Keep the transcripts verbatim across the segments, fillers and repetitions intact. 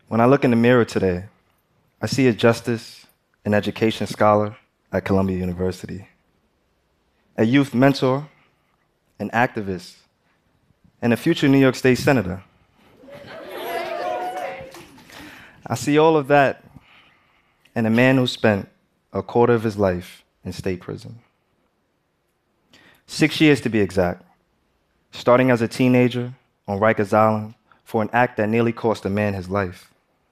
When I look in the mirror today, I see a justice and education scholar at Columbia University, a youth mentor, an activist, and a future New York State Senator. I see all of that in a man who spent a quarter of his life in state prison. Six years to be exact, starting as a teenager on Rikers Island for an act that nearly cost a man his life.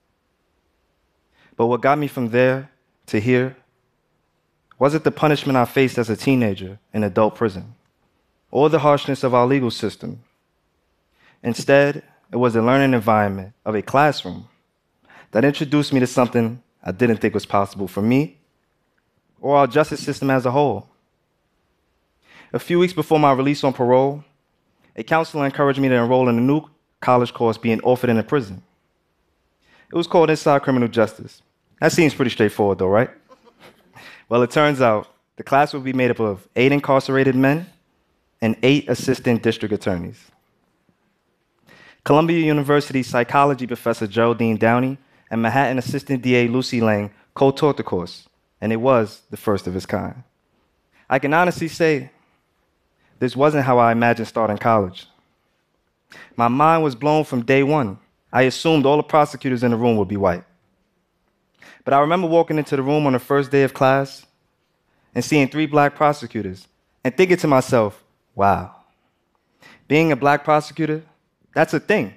But what got me from there to here wasn't the punishment I faced as a teenager in adult prison, or the harshness of our legal system. Instead, it was the learning environment of a classroom that introduced me to something I didn't think was possible for me or our justice system as a whole. A few weeks before my release on parole, a counselor encouraged me to enroll in a new college course being offered in a prison. It was called Inside Criminal Justice. That seems pretty straightforward, though, right? Well, it turns out the class would be made up of eight incarcerated men and eight assistant district attorneys. Columbia University psychology professor Geraldine Downey and Manhattan assistant D A Lucy Lang co-taught the course, and it was the first of its kind. I can honestly say this wasn't how I imagined starting college. My mind was blown from day one. I assumed all the prosecutors in the room would be white. But I remember walking into the room on the first day of class and seeing three black prosecutors and thinking to myself, wow, being a black prosecutor, that's a thing.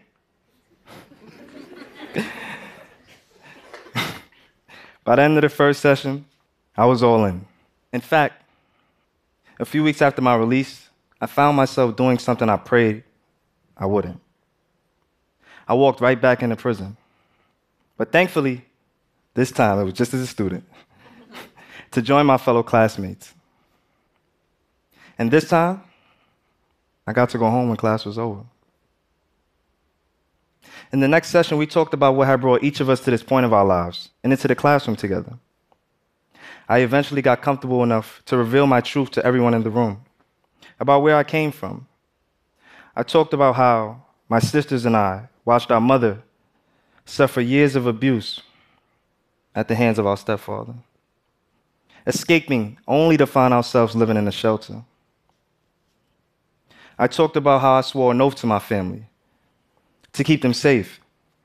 By the end of the first session, I was all in. In fact, a few weeks after my release, I found myself doing something I prayed I wouldn't. I walked right back into prison. But thankfully, this time it was just as a student, to join my fellow classmates. And this time, I got to go home when class was over. In the next session, we talked about what had brought each of us to this point of our lives and into the classroom together. I eventually got comfortable enough to reveal my truth to everyone in the room about where I came from. I talked about how my sisters and I watched our mother suffer years of abuse at the hands of our stepfather, escaping only to find ourselves living in a shelter. I talked about how I swore an oath to my family to keep them safe.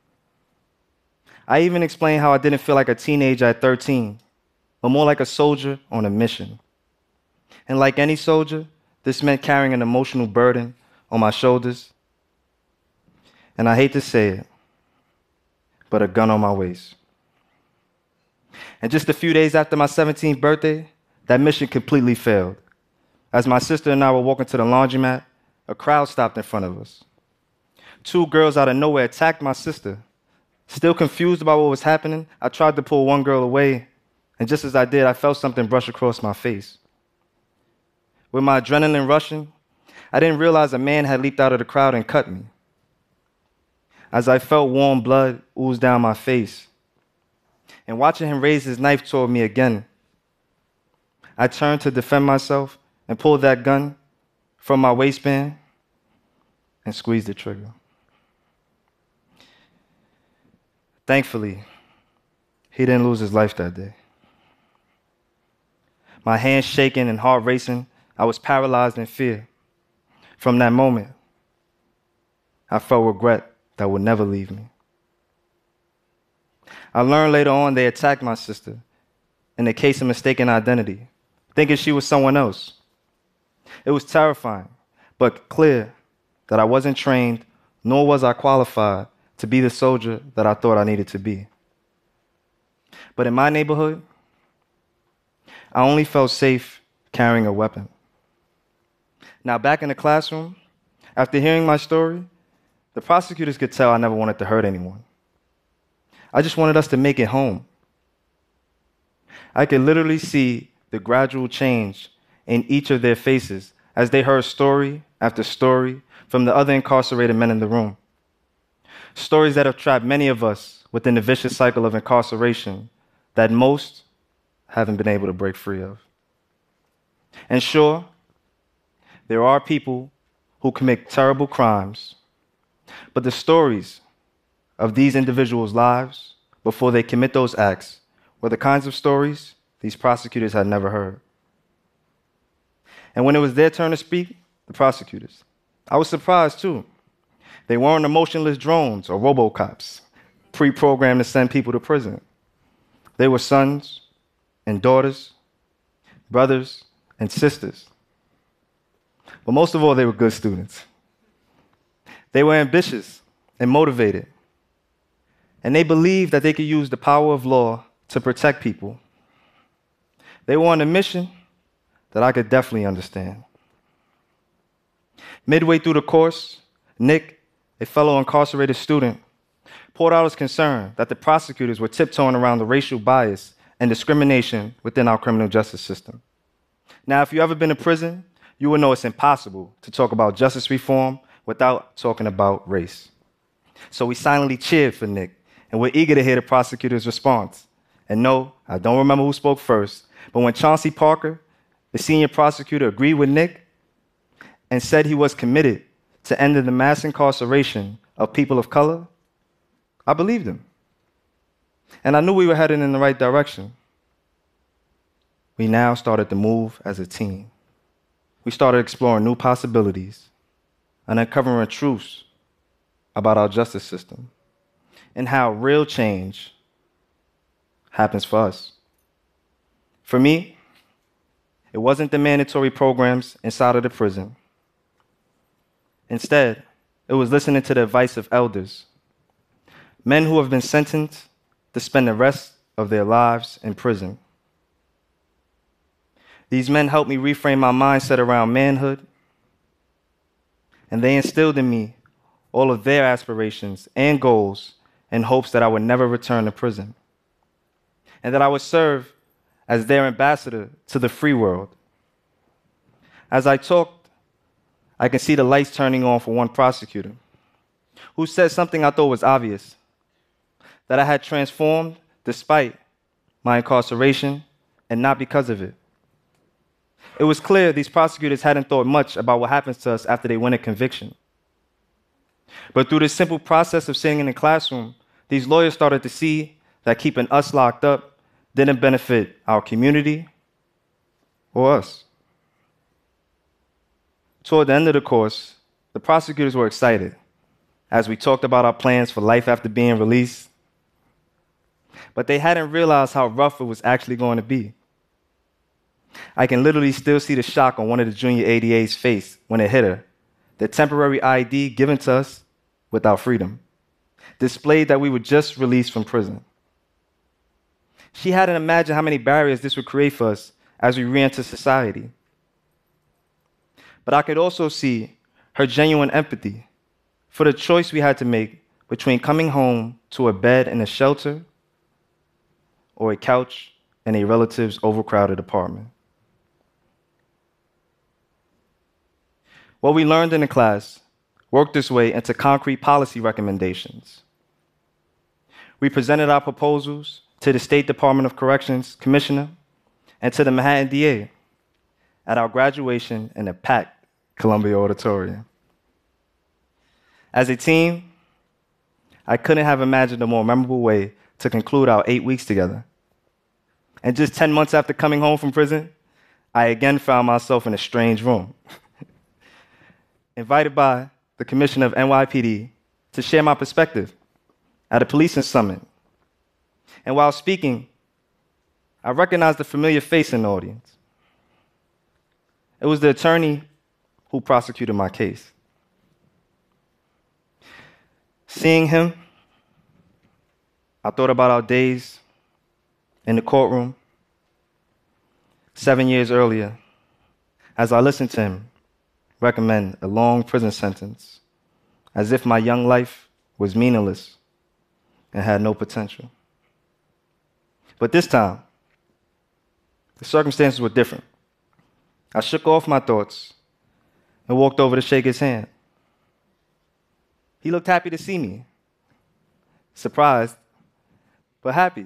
I even explained how I didn't feel like a teenager at thirteen, but more like a soldier on a mission. And like any soldier, this meant carrying an emotional burden on my shoulders, and I hate to say it, but a gun on my waist. And just a few days after my seventeenth birthday, that mission completely failed. As my sister and I were walking to the laundromat, a crowd stopped in front of us. Two girls out of nowhere attacked my sister. Still confused about what was happening, I tried to pull one girl away, and just as I did, I felt something brush across my face. With my adrenaline rushing, I didn't realize a man had leaped out of the crowd and cut me. As I felt warm blood ooze down my face, and watching him raise his knife toward me again, I turned to defend myself and pulled that gun from my waistband and squeezed the trigger. Thankfully, he didn't lose his life that day. My hands shaking and heart racing, I was paralyzed in fear. From that moment, I felt regret that would never leave me. I learned later on they attacked my sister in a case of mistaken identity, thinking she was someone else. It was terrifying, but clear that I wasn't trained, nor was I qualified to be the soldier that I thought I needed to be. But in my neighborhood, I only felt safe carrying a weapon. Now, back in the classroom, after hearing my story, the prosecutors could tell I never wanted to hurt anyone. I just wanted us to make it home. I could literally see the gradual change in each of their faces as they heard story after story from the other incarcerated men in the room. Stories that have trapped many of us within the vicious cycle of incarceration that most haven't been able to break free of. And sure, there are people who commit terrible crimes, but the stories of these individuals' lives before they commit those acts were the kinds of stories these prosecutors had never heard. And when it was their turn to speak, the prosecutors, I was surprised too. They weren't emotionless drones or robocops pre-programmed to send people to prison. They were sons and daughters, brothers and sisters. But most of all, they were good students. They were ambitious and motivated, and they believed that they could use the power of law to protect people. They were on a mission that I could definitely understand. Midway through the course, Nick, a fellow incarcerated student, poured out his concern that the prosecutors were tiptoeing around the racial bias and discrimination within our criminal justice system. Now, if you've ever been to prison, you will know it's impossible to talk about justice reform without talking about race. So we silently cheered for Nick, and we're eager to hear the prosecutor's response. And no, I don't remember who spoke first, but when Chauncey Parker, the senior prosecutor, agreed with Nick and said he was committed to ending the mass incarceration of people of color, I believed him. And I knew we were heading in the right direction. We now started to move as a team. We started exploring new possibilities and uncovering truths about our justice system and how real change happens for us. For me, it wasn't the mandatory programs inside of the prison. Instead, it was listening to the advice of elders, men who have been sentenced to spend the rest of their lives in prison. These men helped me reframe my mindset around manhood, and they instilled in me all of their aspirations and goals in hopes that I would never return to prison, and that I would serve as their ambassador to the free world. As I talked, I can see the lights turning on for one prosecutor who said something I thought was obvious, that I had transformed despite my incarceration and not because of it. It was clear these prosecutors hadn't thought much about what happens to us after they win a conviction. But through this simple process of sitting in the classroom, these lawyers started to see that keeping us locked up didn't benefit our community or us. Toward the end of the course, the prosecutors were excited as we talked about our plans for life after being released. But they hadn't realized how rough it was actually going to be. I can literally still see the shock on one of the junior A D A's face when it hit her. The temporary I D given to us without freedom displayed that we were just released from prison. She hadn't imagined how many barriers this would create for us as we re-enter society. But I could also see her genuine empathy for the choice we had to make between coming home to a bed in a shelter or a couch in a relative's overcrowded apartment. What we learned in the class worked its way into concrete policy recommendations. We presented our proposals to the State Department of Corrections Commissioner and to the Manhattan D A at our graduation in a packed Columbia Auditorium. As a team, I couldn't have imagined a more memorable way to conclude our eight weeks together. And just ten months after coming home from prison, I again found myself in a strange room, invited by the commissioner of N Y P D to share my perspective at a policing summit. And while speaking, I recognized a familiar face in the audience. It was the attorney who prosecuted my case. Seeing him, I thought about our days in the courtroom seven years earlier as I listened to him recommend a long prison sentence as if my young life was meaningless and had no potential. But this time, the circumstances were different. I shook off my thoughts and walked over to shake his hand. He looked happy to see me, surprised, but happy.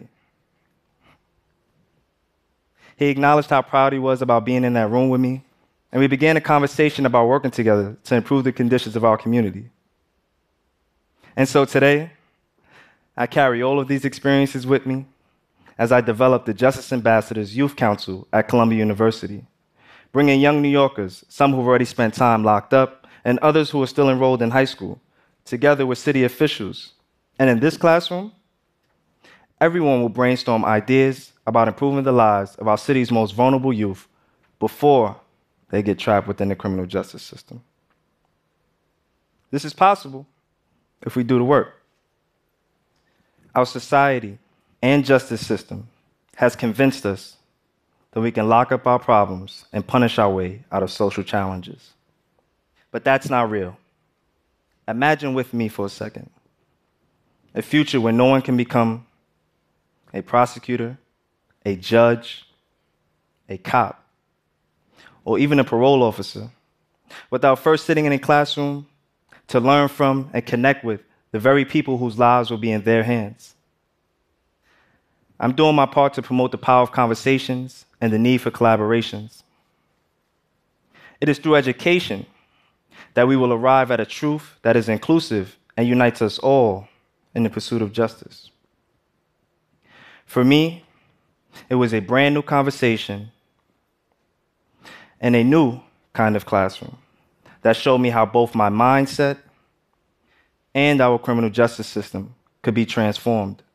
He acknowledged how proud he was about being in that room with me, and we began a conversation about working together to improve the conditions of our community. And so today, I carry all of these experiences with me as I develop the Justice Ambassadors Youth Council at Columbia University, bringing young New Yorkers, some who've already spent time locked up, and others who are still enrolled in high school, together with city officials. And in this classroom, everyone will brainstorm ideas about improving the lives of our city's most vulnerable youth before they get trapped within the criminal justice system. This is possible if we do the work. Our society and justice system has convinced us that we can lock up our problems and punish our way out of social challenges. But that's not real. Imagine with me for a second a future where no one can become a prosecutor, a judge, a cop, or even a parole officer without first sitting in a classroom to learn from and connect with the very people whose lives will be in their hands. I'm doing my part to promote the power of conversations and the need for collaborations. It is through education that we will arrive at a truth that is inclusive and unites us all in the pursuit of justice. For me, it was a brand new conversation and a new kind of classroom that showed me how both my mindset and our criminal justice system could be transformed.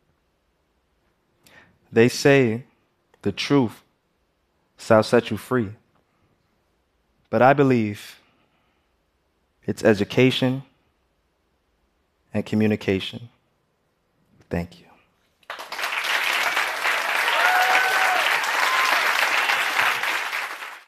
They say the truth shall set you free. But I believe it's education and communication. Thank you.